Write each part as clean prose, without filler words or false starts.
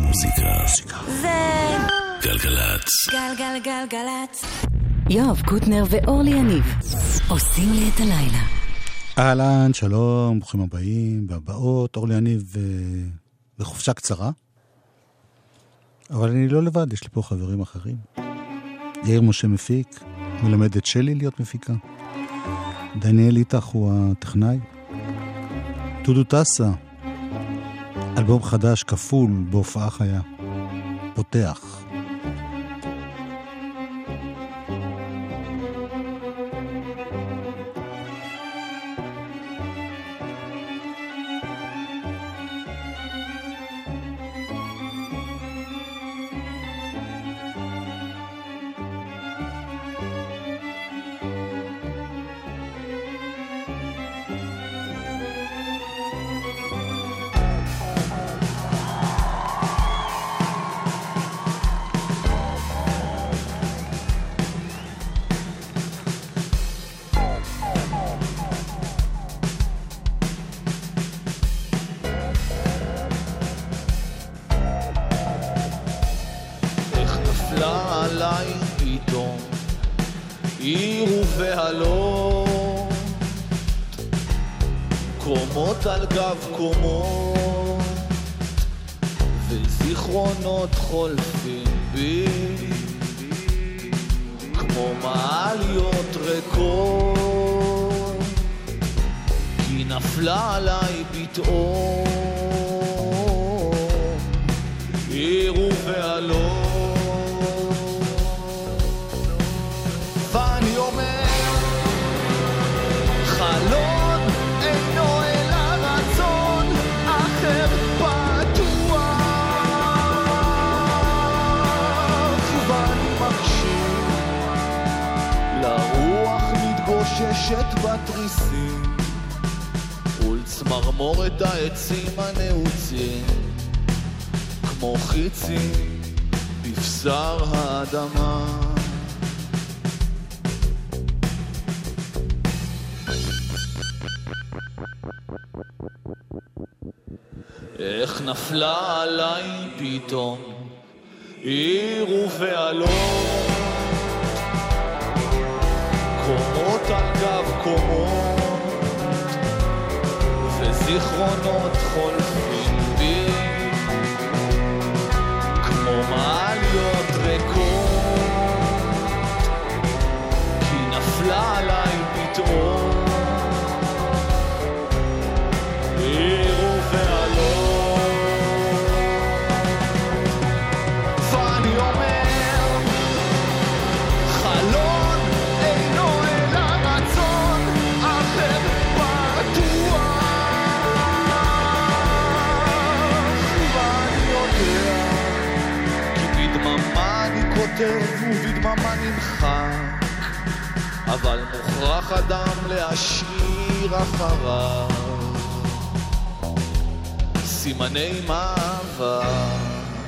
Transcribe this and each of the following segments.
המוזיקה זה גלגלצ. גלגלגלגלצ. יואב קוטנר ואורלי יניב עושים לי את הלילה. אהלן, שלום, ברוכים הבאים והבאות. אורלי יניב בחופשה קצרה, אבל אני לא לבד, יש לי פה חברים אחרים. יאיר משה מפיק, מלמד את שלי להיות מפיקה. דניאל איתך הוא הטכנאי. דודו טסה, אלבום חדש כפול בהופעה חיה, פותח. קומות על גב קומות וזיכרונות חולפים בי כמו מעליות ריקות, כי נפלה עליי פתאום עיר ובעלות, ואני אומר חלום ששת בתריסים ולצמרמורת העצים הנעוצים כמו חיצים בבשר האדמה. איך נפלה עליי פתאום עיר ובעלות, קומות על גב קומות וזיכרונות חולפים בי כמו מעליות ריקות, כי נפלה עליי פתאום עיר ובעלות, ואני אומר חלום ובדממה נמחק, אבל מוכרח אדם להשאיר אחריו סימני מאבק.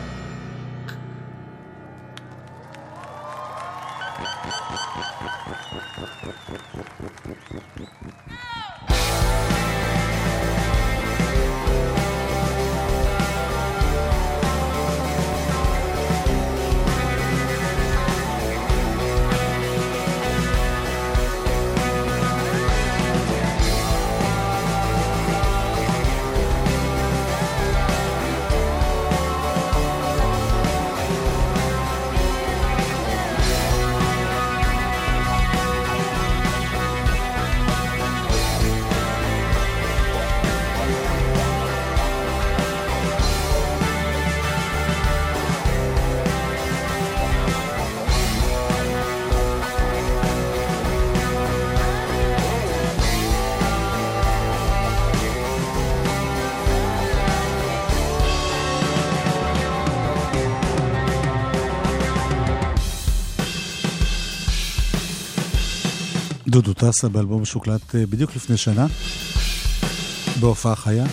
דודו טסה באלבום שוקלט בדיוק לפני שנה בהופעה חיה,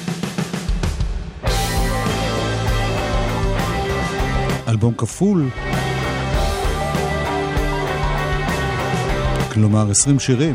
אלבום כפול, כלומר 20 שירים.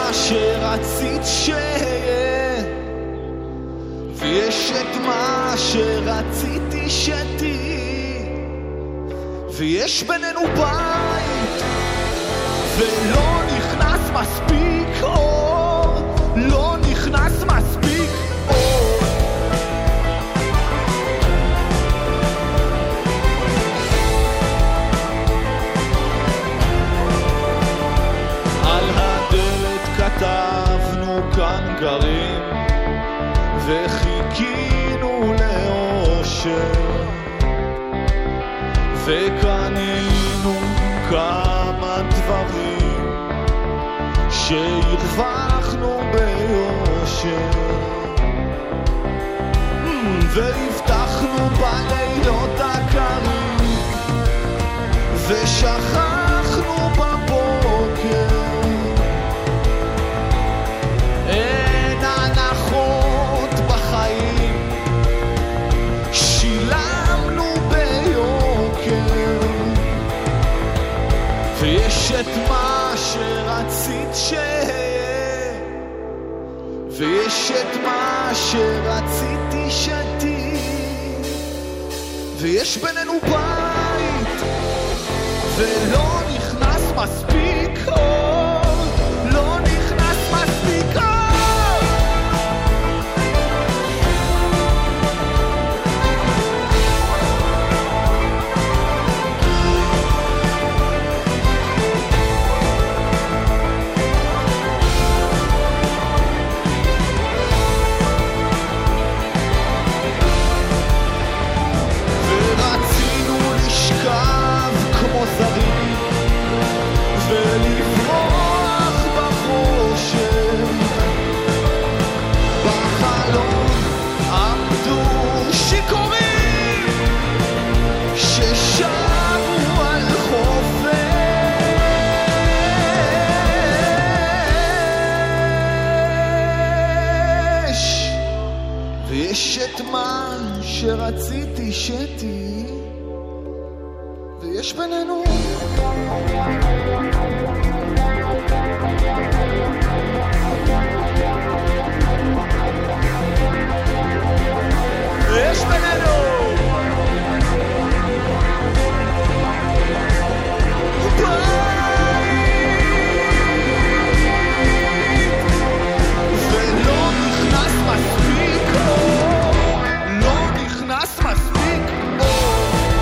מה שרצית שיהיה, ויש את מה שרציתי שתהי, ויש בינינו בית ולא נכנס מספיק אור, לא נכנס מספיק אור. על הדלת כתבנו כאן גרים וחיכינו לאושר, וקנינו כמה דברים שהרווחנו ביושר, והבטחנו בלילות הקרים ושכחנו בבוקר. אין הנחות בחיים, שילמנו ביוקר, ויש את מה שרצית שיהיה, ויש את מה שרציתי שתהי, ויש בינינו בית ולא נכנס מספיק אור, לא נכנס מספיק אור. זרים ולברוח בחושך, בחלום עמדו שיכורים ששרו על חופש, ויש את מה שרציתי שתהי, ויש בינינו יש בינינו ולא נכנס מספיק אור, לא נכנס מספיק אור.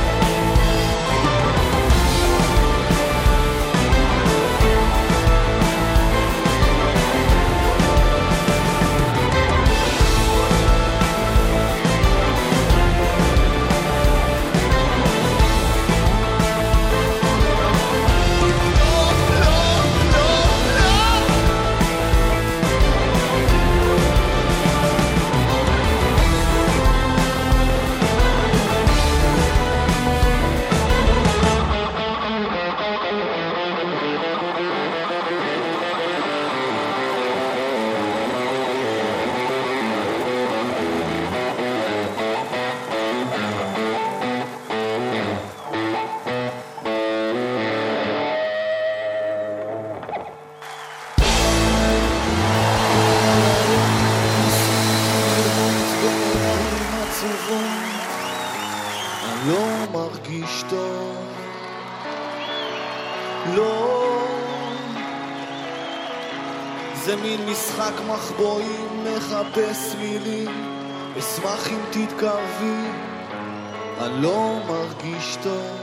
זה מין משחק מחבואים, מחפש מילים, אשמח אם תתקרבי, אני לא מרגיש טוב,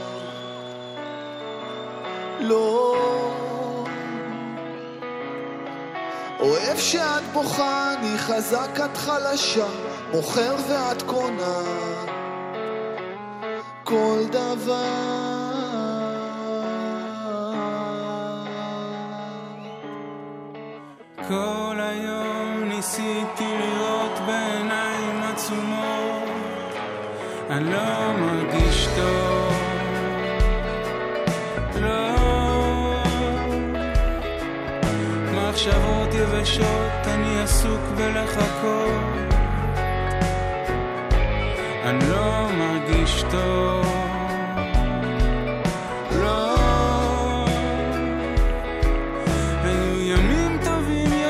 לא אוהב שאת בוכה, אני חזק את חלשה, מוכר ואת קונה כל דבר. כל היום ניסיתי לראות בעיניים עצומות, אני לא מרגיש טוב, לא מחשבות יבשות, אני עסוק בלחכות, אני לא מרגיש טוב, לא היו ימים טובים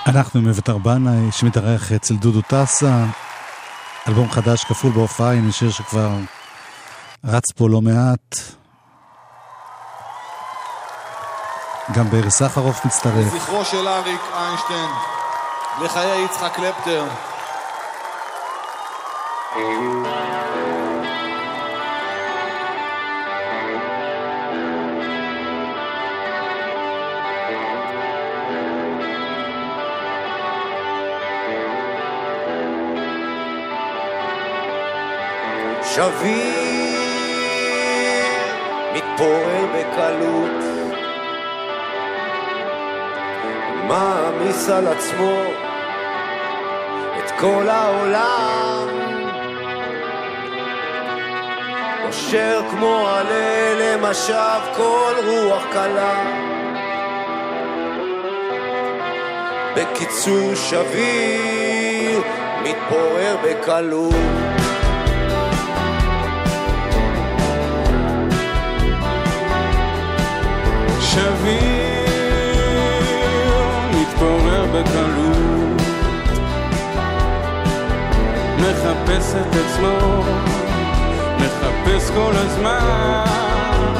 אנחנו עם אביתר בנאי שמתארח אצל דודו טסה, אלבום חדש כפול בהופעה, הנה שיר שכבר רץ פה לא מעט, גם בארי סחרוף מצטרף. זכרו של אריק איינשטיין, לחיי יצחק קלפטר. שביר מתפורר בקלות, מעמיס על עצמו את כל העולם, נושר כמו עלה למשב כל רוח קלה. בקיצור שביר מתפורר בקלות. שביר מתפורר בקלות, מחפש את עצמו, מחפש כל הזמן,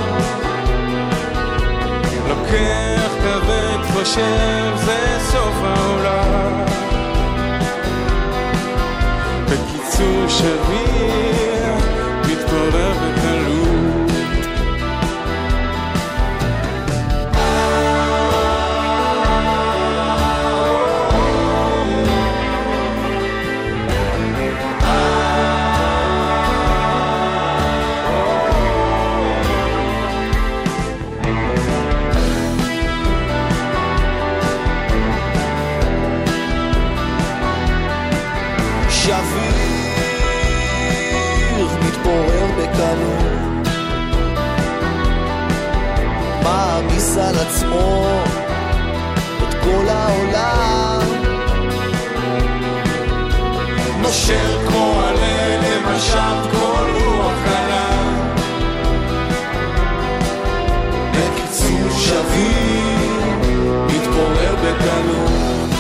לוקח כבד, חושב זה סוף העולם. בקיצור שביר מתפורר בקלות. מעמיס על עצמו את כל העולם, נושר כמו עלה למשב כל רוח קלה. בקיצור שביר מתפורר בקלות.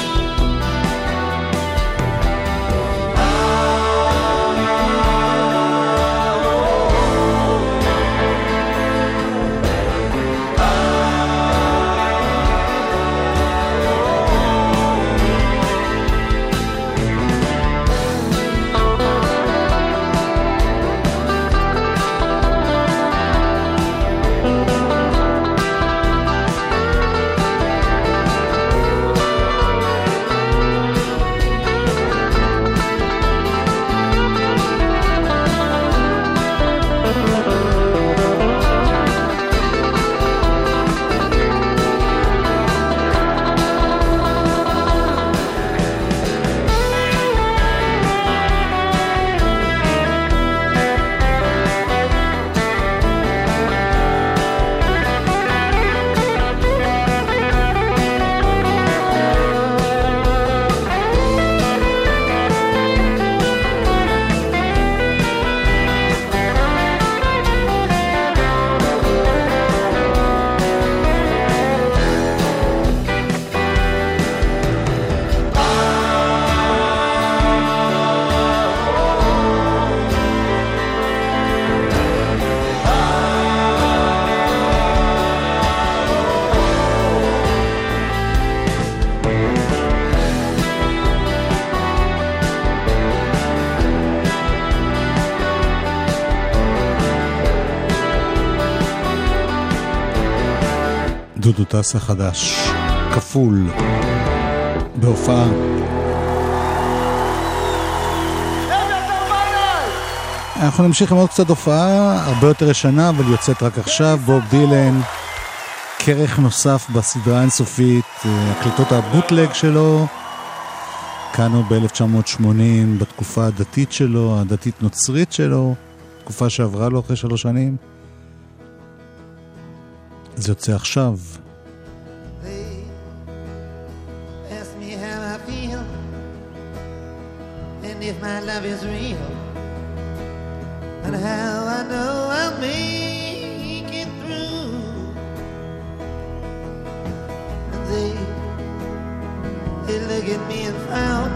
דודו טסה חדש, כפול, בהופעה. אנחנו נמשיך עם עוד קצת הופעה, הרבה יותר ישנה, אבל יוצאת רק עכשיו. בוב דילן, כרך נוסף בסדרה אינסופית, הקלטות הבוטלג שלו, כאן הוא ב-1980, בתקופה הדתית שלו, הדתית נוצרית שלו, תקופה שעברה לו אחרי 3 שנים. זה יוצא עכשיו. If my love is real, and how I know I'll make it through. And they look at me and frown,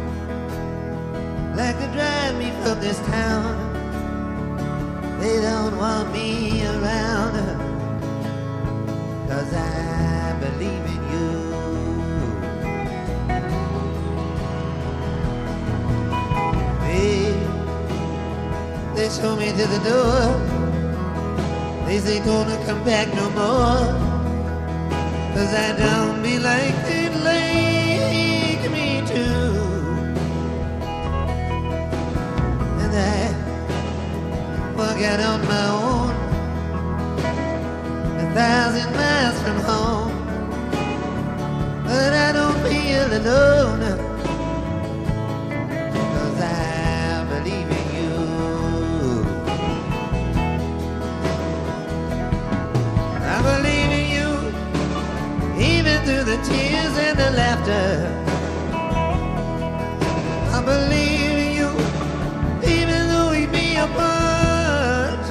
like to drive me from this town. They don't want me around, 'cause I believe in you. They show me to the door. They say gonna come back no more, 'cause I don't be like they'd like me to. And I walk out on my own, 1,000 miles from home, but I don't feel alone, 'cause I believe in you. I believe in you, even through the tears and the laughter. I believe in you, even though we be apart.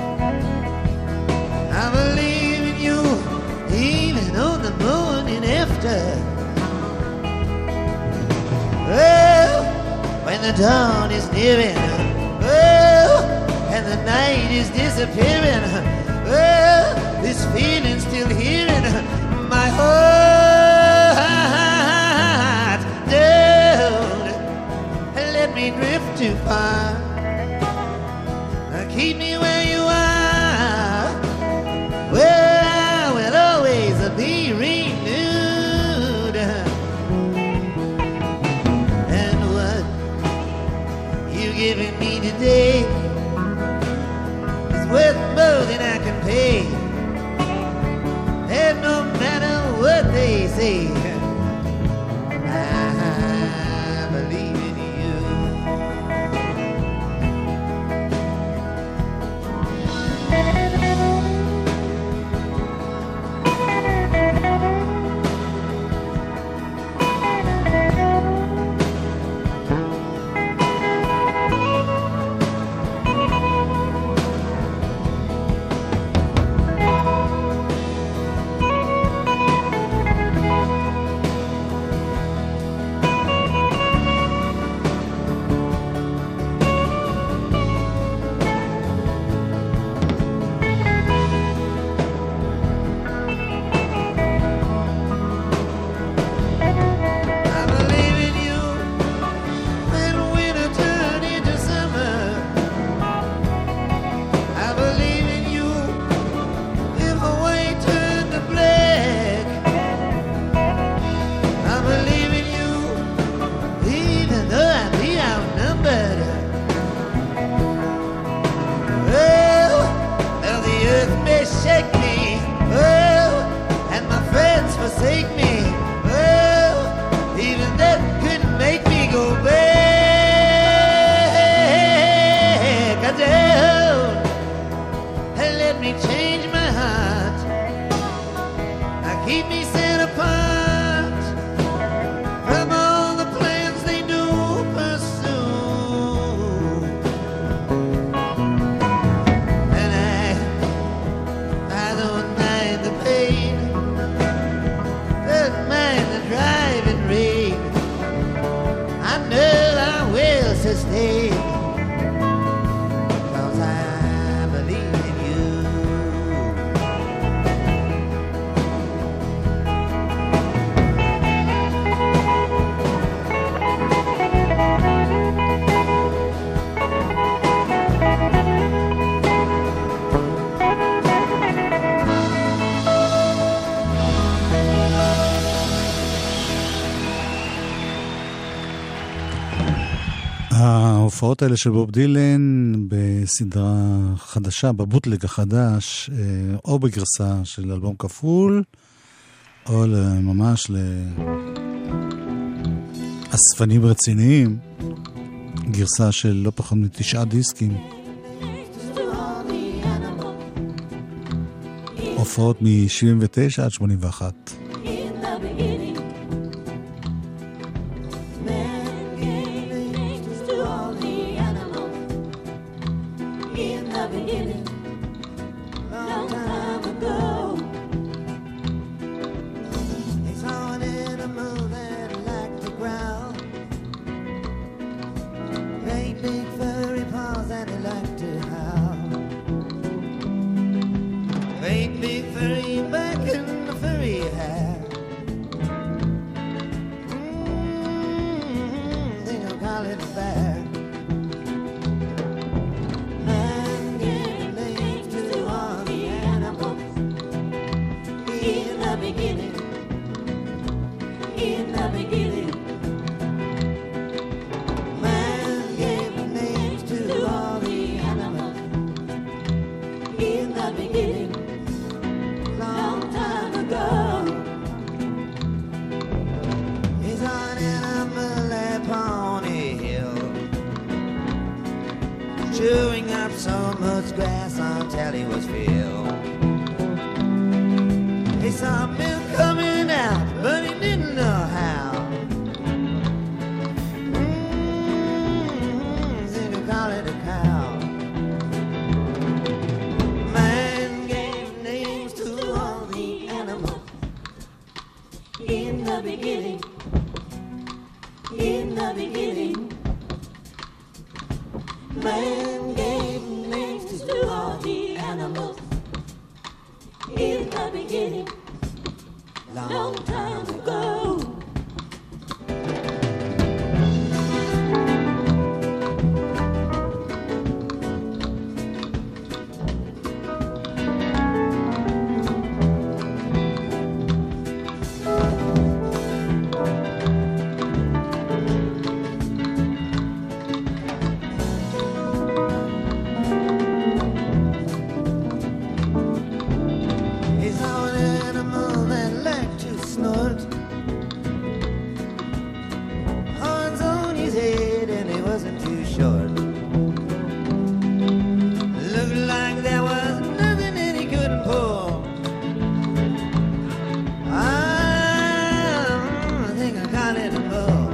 I believe in you, even on the morning after. Oh, when the dawn is nearing, oh, and the night is disappearing, oh, this feeling still here in my heart. Don't let me drift too far. Keep me where you are, where I will always be renewed. And what you're giving me today is worth more than I can pay. And no matter what they say, I believe in you. ההופעות האלה של בוב דילן בסדרה חדשה, בבוטלג החדש, או בגרסה של אלבום כפול, או ממש לאספנים רציניים, גרסה של לא פחות מ9 דיסקים. הופעות מ-79 עד 81. It's all in a mood that I like big furry paws and he liked to howl. Great big furry back and the furry hair. Think I'll call it bear. Man gave names to all the animals in the beginning. In the beginning. Man gave names to all the animals in the beginning. Long time ago. He's an animal upon a hill, chewing up so much grass until he was filled. He saw milk coming out, but he didn't know how. Think I'll call it a cow. Man gave names to all the animals in the beginning. In the beginning. Man gave names to all the animals in the beginning. Long time ago. He's an animal that liked to snort. Horns on his head and he wasn't too short. Looked like there was nothing that he couldn't pull. I think I call it a bull.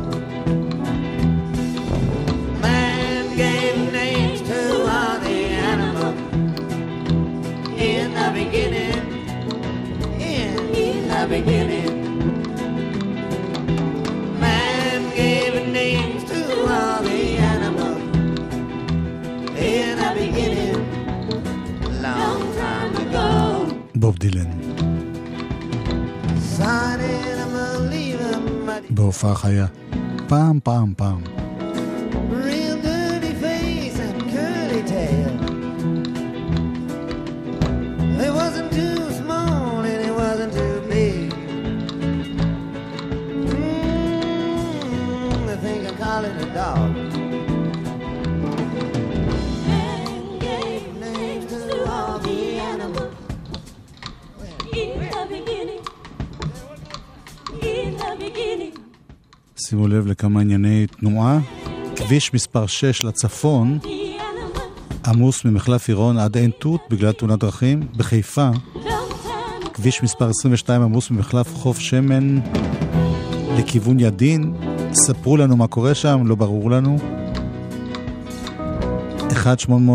Man gave names to all the animals in the beginning. In the beginning. Man gave names to all the animals in the beginning. Long time ago. בוב דילן, Son animal leave him muddy. בהופעה חיה. פעם. Real dirty face and curly tail. It wasn't too small and it wasn't too big. I think I call it a dog. Man gave names to all the animals in the beginning. In the beginning. שימו לב לכמה ענייני תנועה. כביש מספר 6 לצפון עמוס ממחלף עירון עד עין תות בגלל תאונת דרכים. בחיפה כביש מספר 22 עמוס ממחלף חוף שמן לכיוון ידין. ספרו לנו מה קורה שם, לא ברור לנו. 1-800-800-918.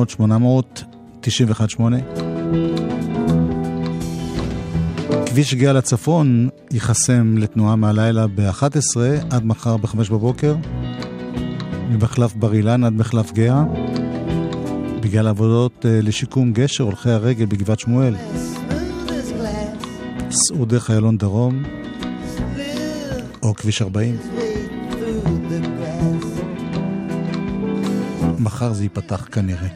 כביש גאה לצפון ייחסם לתנועה מהלילה ב-11 עד מחר ב-5 בבוקר. ממחלף בר אילן עד מחלף גאה. בגלל עבודות לשיקום גשר הולכי הרגל בגבעת שמואל. סעו דרך איילון דרום או כביש 40. מחר זה ייפתח כנראה.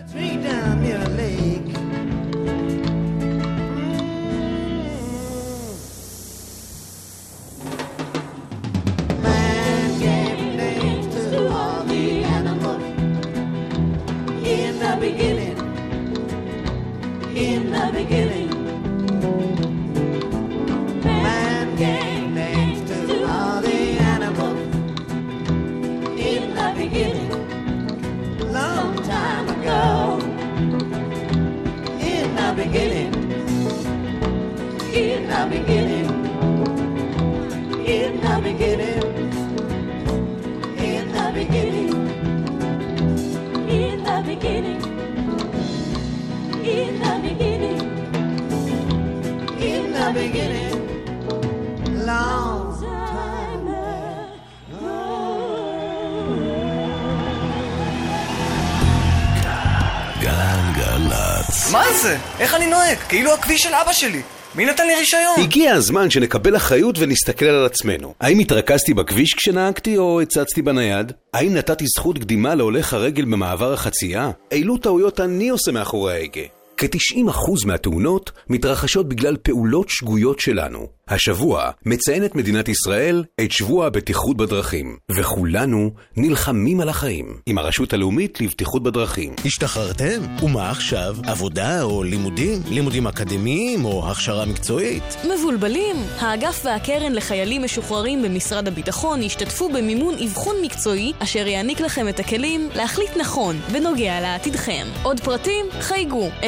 מה זה? איך אני נוהג? כאילו הכביש של אבא שלי. מי נתן לי רישיון? הגיע הזמן שנקבל אחריות ונסתכל על עצמנו. האם התרכזתי בכביש כשנהגתי או הצצתי בנייד? האם נתתי זכות קדימה להולך הרגל במעבר החצייה? אילו טעויות אני עושה מאחורי ההגה? כ-90% מהתאונות מתרחשות בגלל פעולות שגויות שלנו. השבוע מציינת מדינת ישראל את שבוע הבטיחות בדרכים, וכולנו נלחמים על החיים עם הרשות הלאומית לבטיחות בדרכים. השתחררתם? ומה עכשיו? עבודה או לימודים? לימודים אקדמיים או הכשרה מקצועית? מבולבלים? האגף והקרן לחיילים משוחררים במשרד הביטחון ישתתפו במימון אבחון מקצועי אשר יעניק לכם את הכלים להחליט נכון בנוגע לעתידכם. עוד פרטים? חייגו 03-777-6770.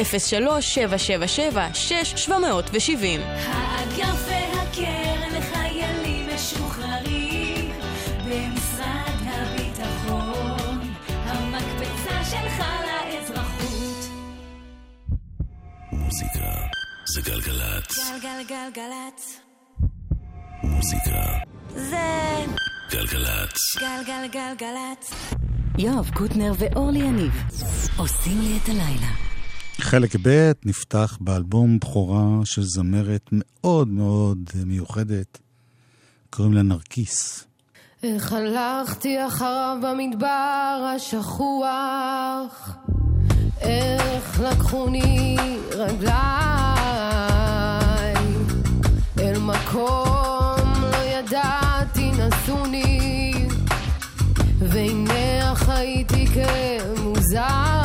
האגף והקרן לחיילים משוחררים במשרד הביטחון, המקפצה שלך לאזרחות. מוזיקה זה גלגלת. גלגלגלגלת. מוזיקה זה גלגלת. גלגלגלגלת. יואב קוטנר ואורלי יניב עושים לי את הלילה. חלק ב' נפתח באלבום בכורה של זמרת מאוד מאוד מיוחדת, קוראים לה נרקיס. איך הלכתי אחריו במדבר השכוח, איך לקחוני רגליי אל מקום לא ידעתי נסוני, והנה חייתי כמוזר.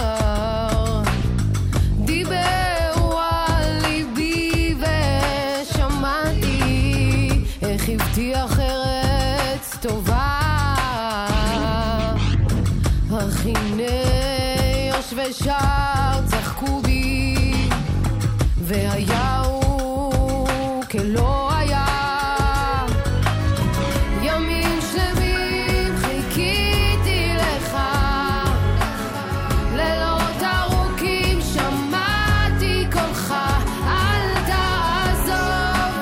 דיברו על ליבי ושמעתי איך הבטיח ארץ טובה, אך הנה יושבי שער צחקו בי והיה הוא כלא היה. ימים שלמים חיכיתי לך, לילות ארוכים שמעתי קולך, אל תעזוב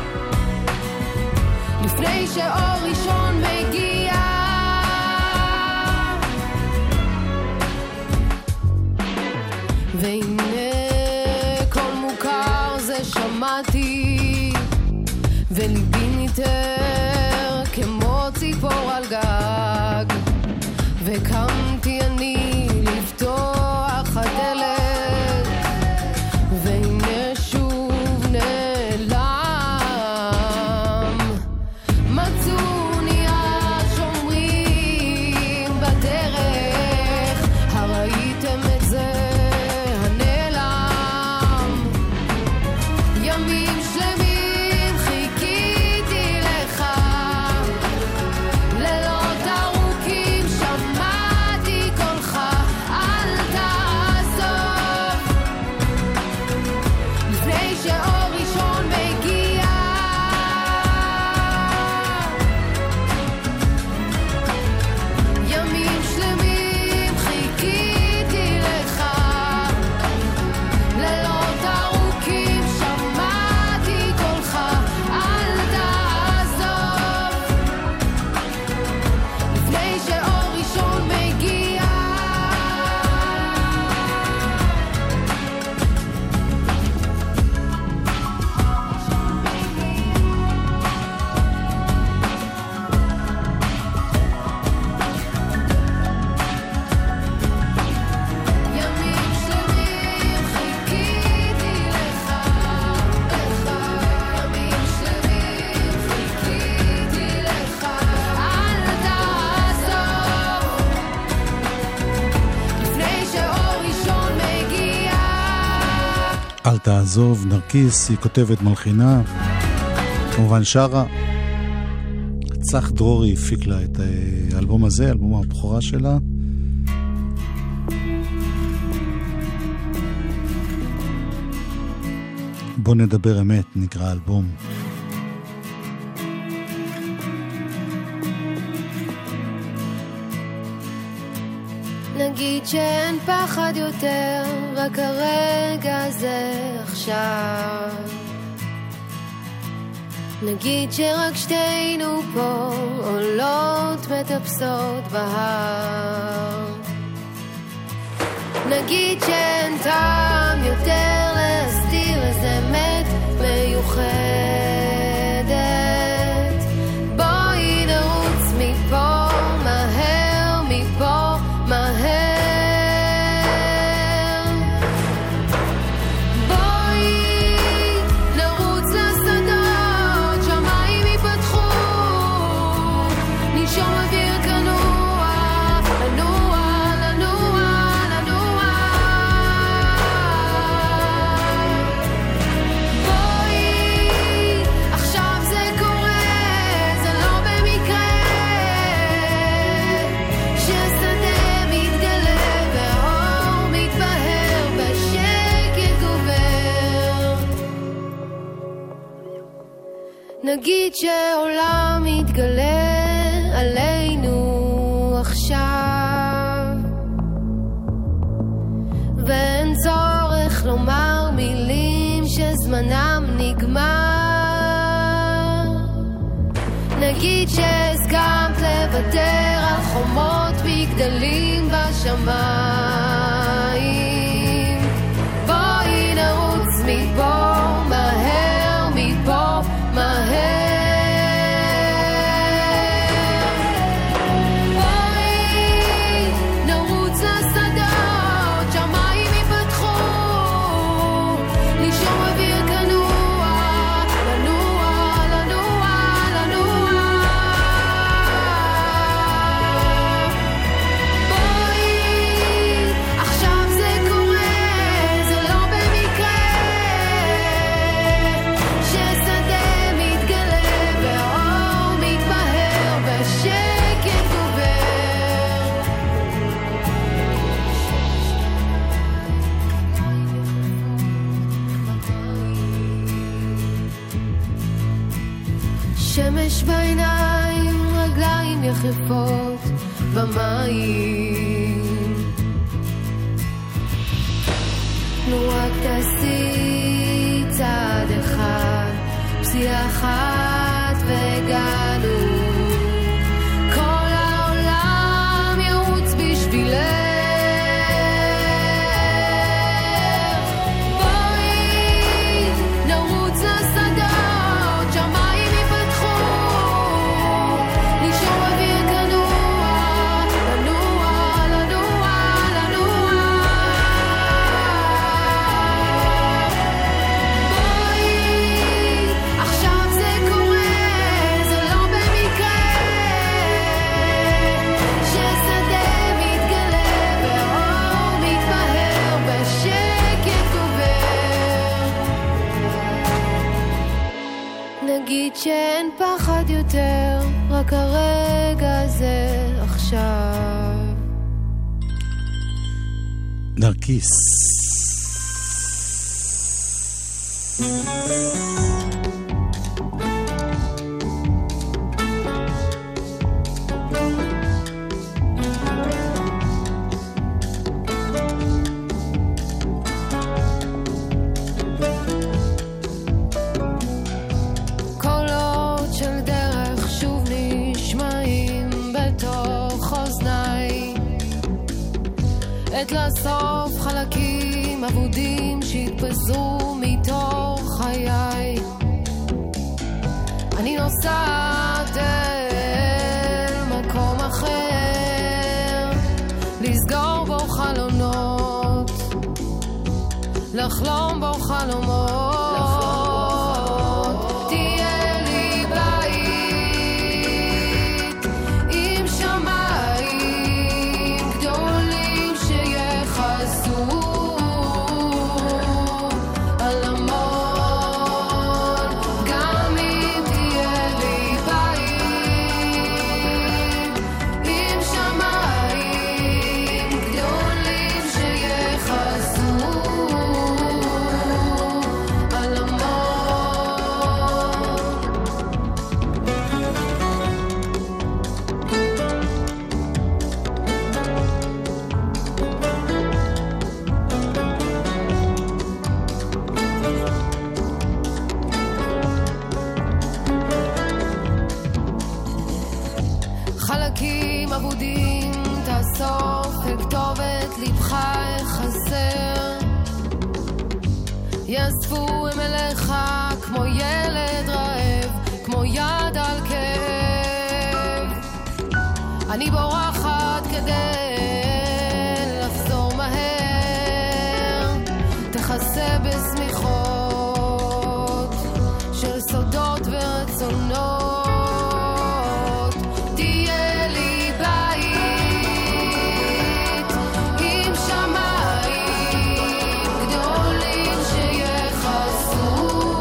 לפני שאור ראשון מגיע. והנה כל מוכר זה שמעתי, וליבי ניתר כמו ציפור על גג, וקמתי אני לפתוח הדלת, והנה שוב נעלם. מצאוני השומרים בדרך, הראיתם את זה הנעלם. ימים שלמים חיכיתי לך, לילות ארוכים שמעתי קולך, אל תעזוב לפני שאור ראשון מגיע. ימים שלמים חיכיתי לך, לילות ארוכים שמעתי קולך, אל תעזוב לפני שאור ראשון מגיע. ימים שלמים חיכיתי לך, ימים שלמים חיכיתי לך, אל תעזוב לפני שאור ראשון מגיע. אל תעזוב, נרקיס, היא כותבת מלחינה, כמובן שרה. צח דרורי הפיק לה את האלבום הזה, אלבום הבכורה שלה. בוא נדבר אמת, נקרא אלבום. נגיד שאין פחד יותר, רק הרגע הזה עכשיו. נגיד שרק שתינו פה עולות מטפסות בהר. נגיד שאין טעם נגיד שעולם מתגלה עלינו עכשיו, ואין צורך לומר מילים שזמנם נגמר. נגיד שהסכמת לוותר על חומות מגדלים בשמיים, בואי נרוץ מפה מהר, מפה מהר. שמש בעיניים, רגליים יחפות במים, נו רק תעשי צעד אחד, פסיעה אחת והגענו, כל העולם ירוץ בשבילך. נגיד שאין פחד יותר, רק הרגע הזה עכשיו. נרקיס. עת לאסוף חלקים אבודים שהתפזרו מתוך חיי. אני נוסעת אל מקום אחר, לסגור בו חלונות, לחלום בו חלומות. תהיה לי בית עם שמיים גדולים שיחסו על המון, גם אם תהיה לי בית עם שמיים גדולים שיחסו על המון. חלקים אבודים תאסוף וכתובת לבך חסר, יאספו הם אליך כמו ילד רעב, כמו יד על כאב. אני בורחת כדי לחזור מהר, תכסה בסמיכות של סודות ורצונות. תהיה לי בית עם שמיים גדולים שיחסו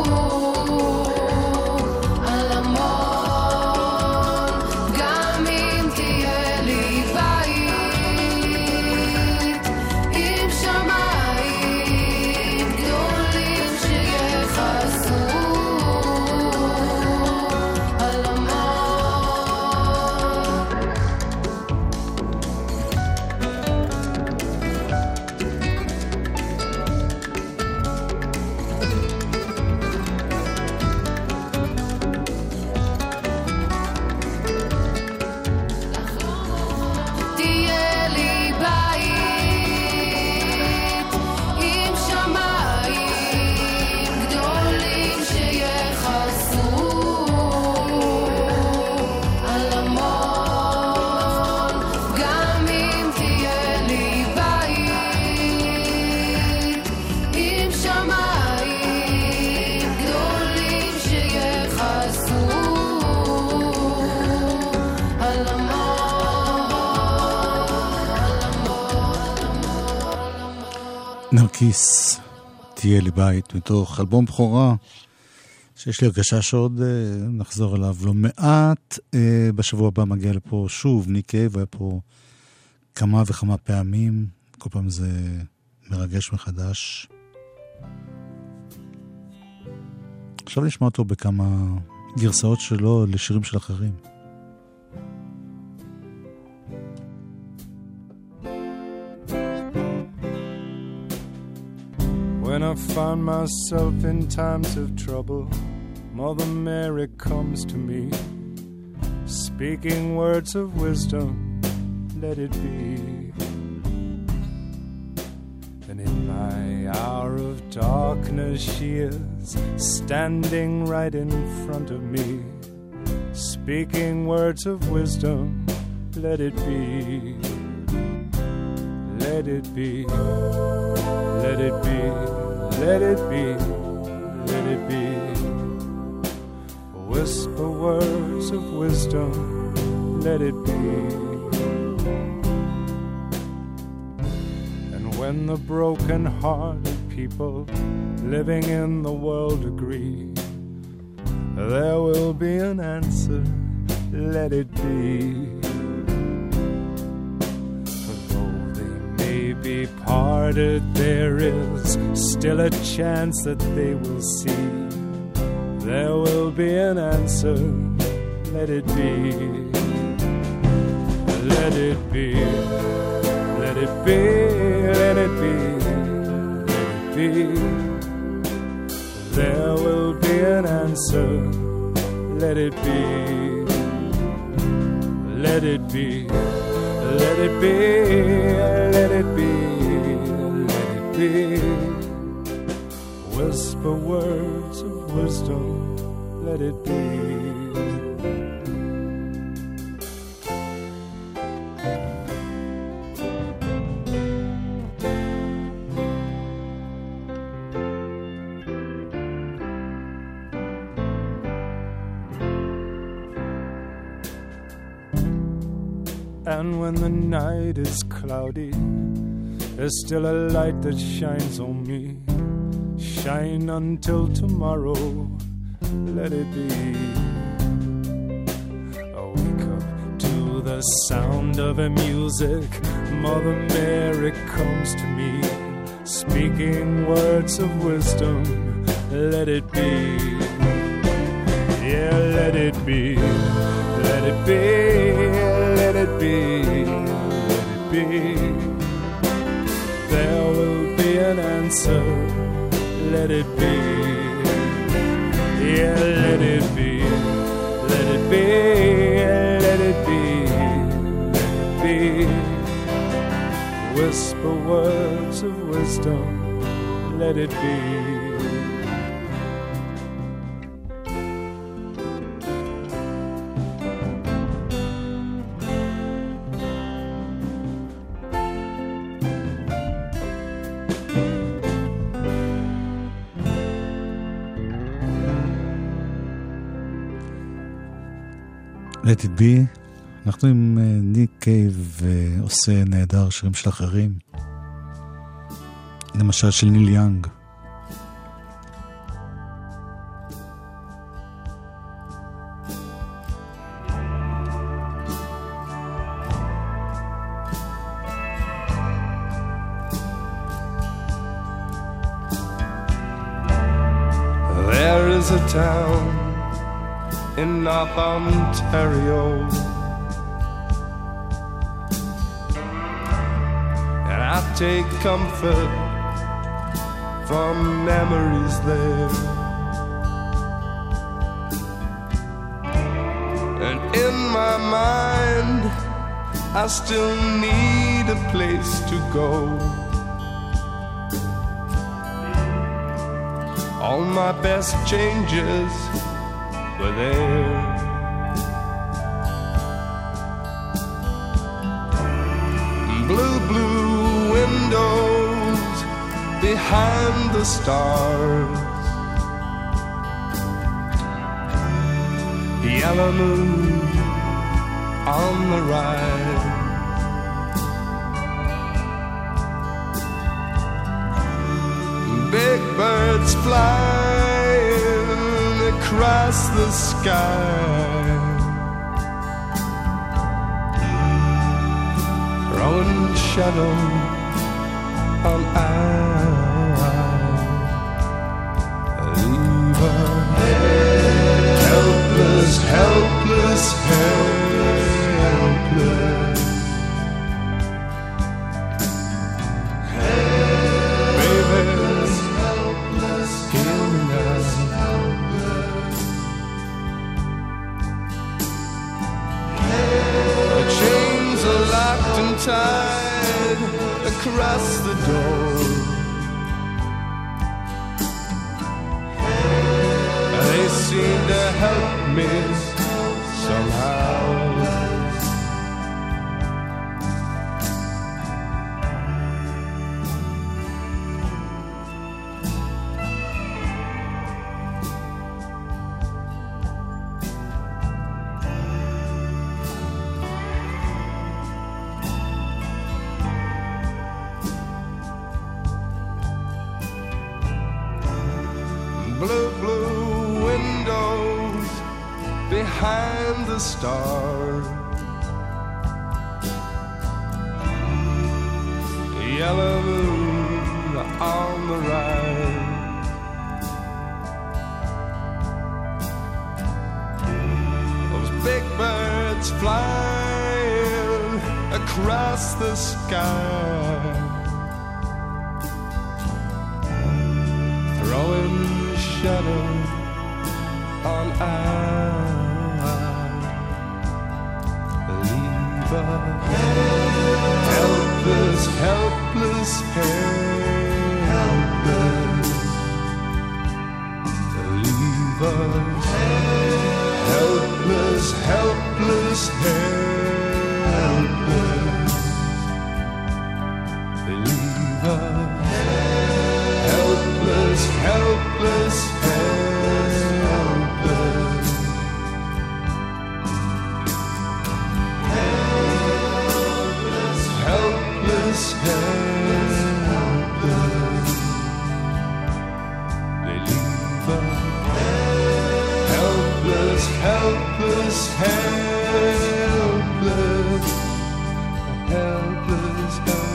על המון, גם אם תהיה לי בית נרקיס, תהיה לי בית, מתוך אלבום בכורה, שיש לי הרגשה שעוד נחזור אליו לא מעט. בשבוע הבא מגיע לפה שוב ניק קייב, היה פה כמה וכמה פעמים, כל פעם זה מרגש מחדש. עכשיו נשמע אותו בכמה גרסאות שלו לשירים של אחרים. When I find myself in times of trouble, Mother Mary comes to me, speaking words of wisdom, let it be. And in my hour of darkness she is standing right in front of me, speaking words of wisdom, let it be. Let it be. Let it be. Let it be, let it be. Whisper words of wisdom, let it be. And when the broken-hearted people living in the world agree, there will be an answer, let it be. Be parted, there is still a chance that they will see. There will be an answer, let it be. Let it be, let it be, let it be, let it be. There will be an answer, let it be. Let it be. Let it be, let it be, let it be. Whisper words of wisdom, let it be. And when the night is cloudy, there's still a light that shines on me. Shine until tomorrow, let it be. I wake up to the sound of a music. Mother Mary comes to me, speaking words of wisdom, let it be. Yeah, let it be. Let it be. Let it be, let it be. There will be an answer, let it be. Yeah, let it be, let it be, let it be, let it be. Whisper words of wisdom, let it be. Let it be. אנחנו עם ניק קייב עושה נהדר שירים של אחרים, למשל של ניל יאנג. There is a town in North Ontario, and I take comfort from memories there. And in my mind, I still need a place to go. All my best changes were there. Blue, blue windows behind the stars, yellow moon on the rise. birds flying across the sky, throwing shadow on leave a helpless, helpless, helpless. Baby's helpless, hear me now. The chains are locked and tied across the door. They seem to help me somehow. Blue, blue windows behind the stars, yellow moon on the rise. Those big birds flying across the sky, throwing shadow on leave a helpless, helpless, helpless. Leave a helpless, helpless, helpless. Leave a helpless, helpless, helpless. Helpless, helpless, helpless. They leave a helpless, helpless, helpless. Helpless,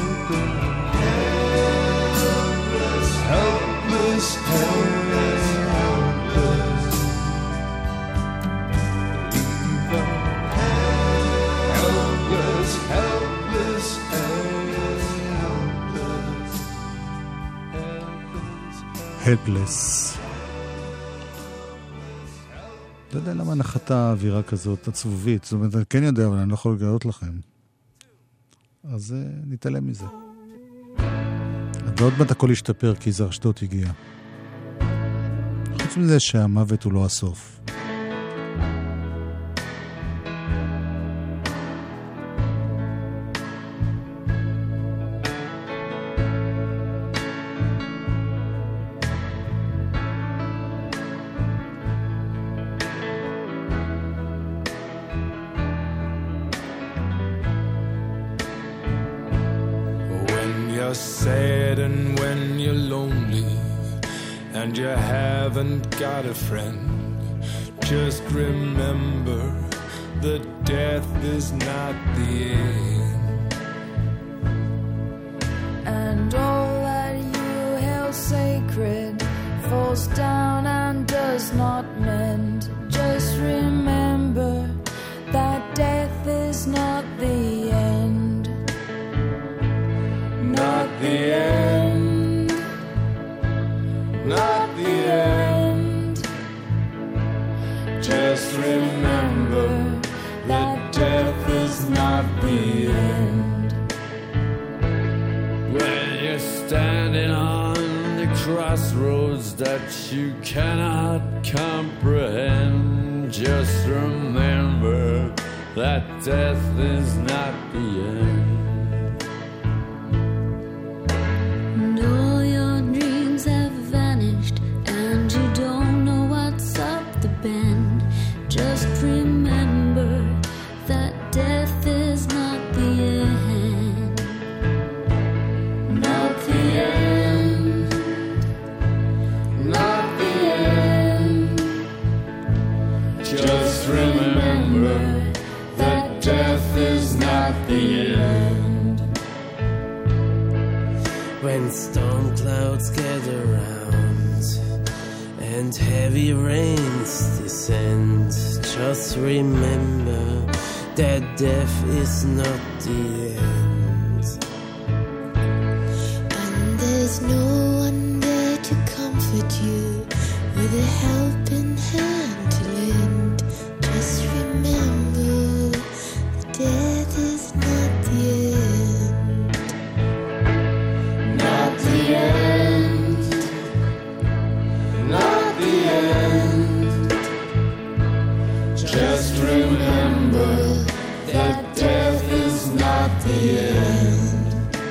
helpless. Helpless, helpless, leave a helpless, helpless, helpless, helpless. לא יודע למה נחתה האווירה כזאת עצבובית, זאת אומרת, אני כן יודע, אבל אני לא יכול לגלות לכם. אז נתעלם מזה. ועוד מעט הכל ישתפר, כי זר אשדוד הגיע. חוץ מזה שהמוות הוא לא הסוף. Sad and when you're lonely and you haven't got a friend, just remember that death is not the end. And all that you held sacred falls down and does not mend. Just remember that death is not the end. Not the end, not the end. Just remember that death is not the end. When you're standing on the crossroads that you cannot comprehend, just remember that death is not the end. Just remember that death is not the end. Not the end. when storm clouds gather round and heavy rains descend, just remember that death is not the end. And there's no one there to comfort you with a helping hand to lend. Just remember that death is not the end. Not the end. Not the end. Just remember that death is not the end.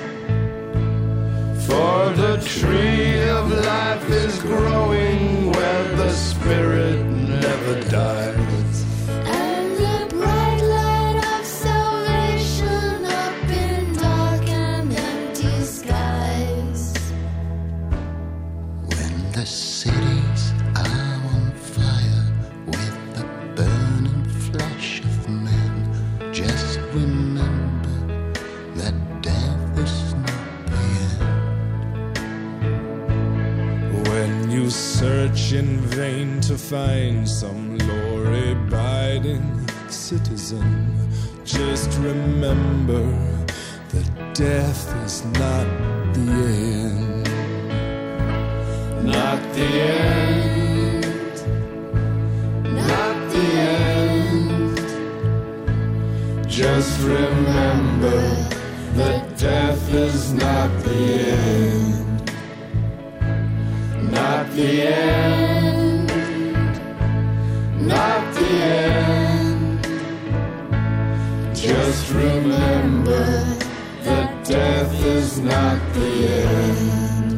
For the tree of life is growing where the spirit never dies. And the bright light of salvation up in dark and empty skies. When the cities are on fire with the burning flesh of men, just remember that death is not the end. When you search in vain to find some law-abiding citizen, just remember that death is not the end. Not the end. Not the end. Just remember that death is not the end. Not the end. Not the end. Just remember that death is not the end.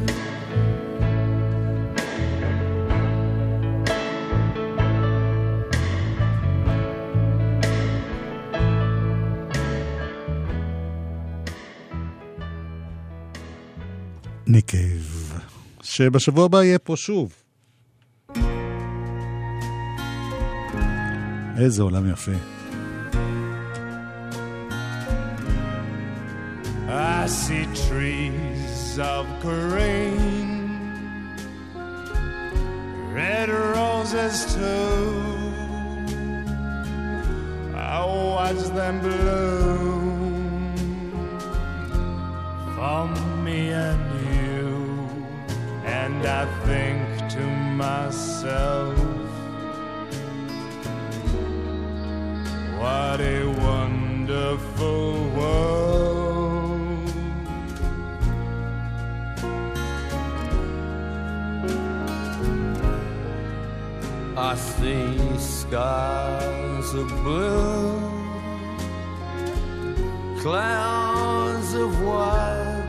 ניק קייב, שבשבוע הבא יהיה פה שוב. איזה עולם יפה. I see trees of green, red roses too. I watch them bloom for me and you, and I think to myself, what a wonderful world. I see skies of blue, clouds of white,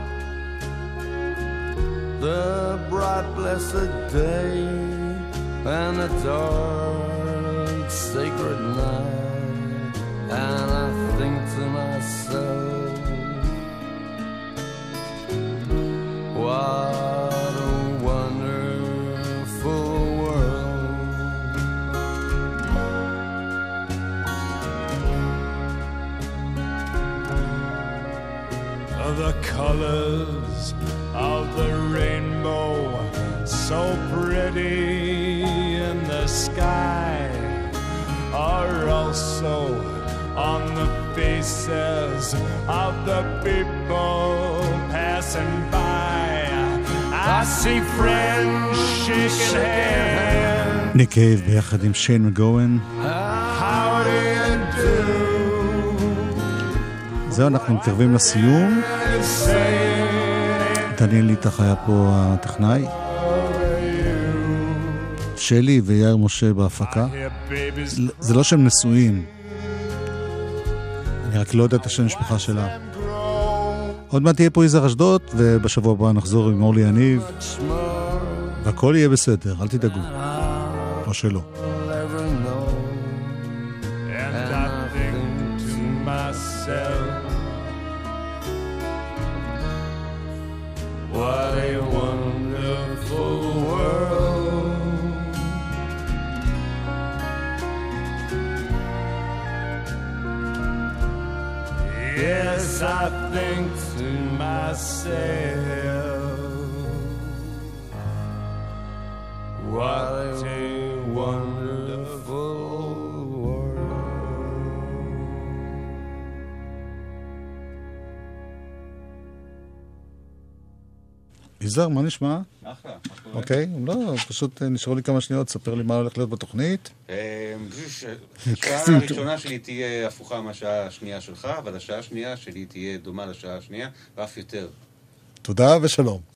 the bright blessed day and the dark sacred night, and I think to myself, what a wonderful world. The colors of the rainbow, so pretty in the sky, are also on the faces of the people passing by. I see friends shaking hands. ניק קייב ביחד עם שיין מגוון. How do you do? זהו, אנחנו מתקרבים לסיום. דניאל ליטח היה פה הטכנאי, שלי ויאיר משה בהפקה. זה לא שהם נשואים, אני רק לא יודע את השם המשפחה שלה. עוד מעט תהיה פה יזהר אשדוד, ובשבוע הבא נחזור עם אורלי יניב, והכל יהיה בסדר, אל תדאגו, או שלא. What a wonderful world. Yes, I think to myself, יזהר, מה נשמע? אחלה. אוקיי, לא, פשוט נשארו לי כמה שניות, ספר לי מה הולך להיות בתוכנית. השעה הראשונה שלי תהיה הפוכה מהשעה השנייה שלך, אבל השעה השנייה שלי תהיה דומה לשעה השנייה, ואף יותר. תודה ושלום.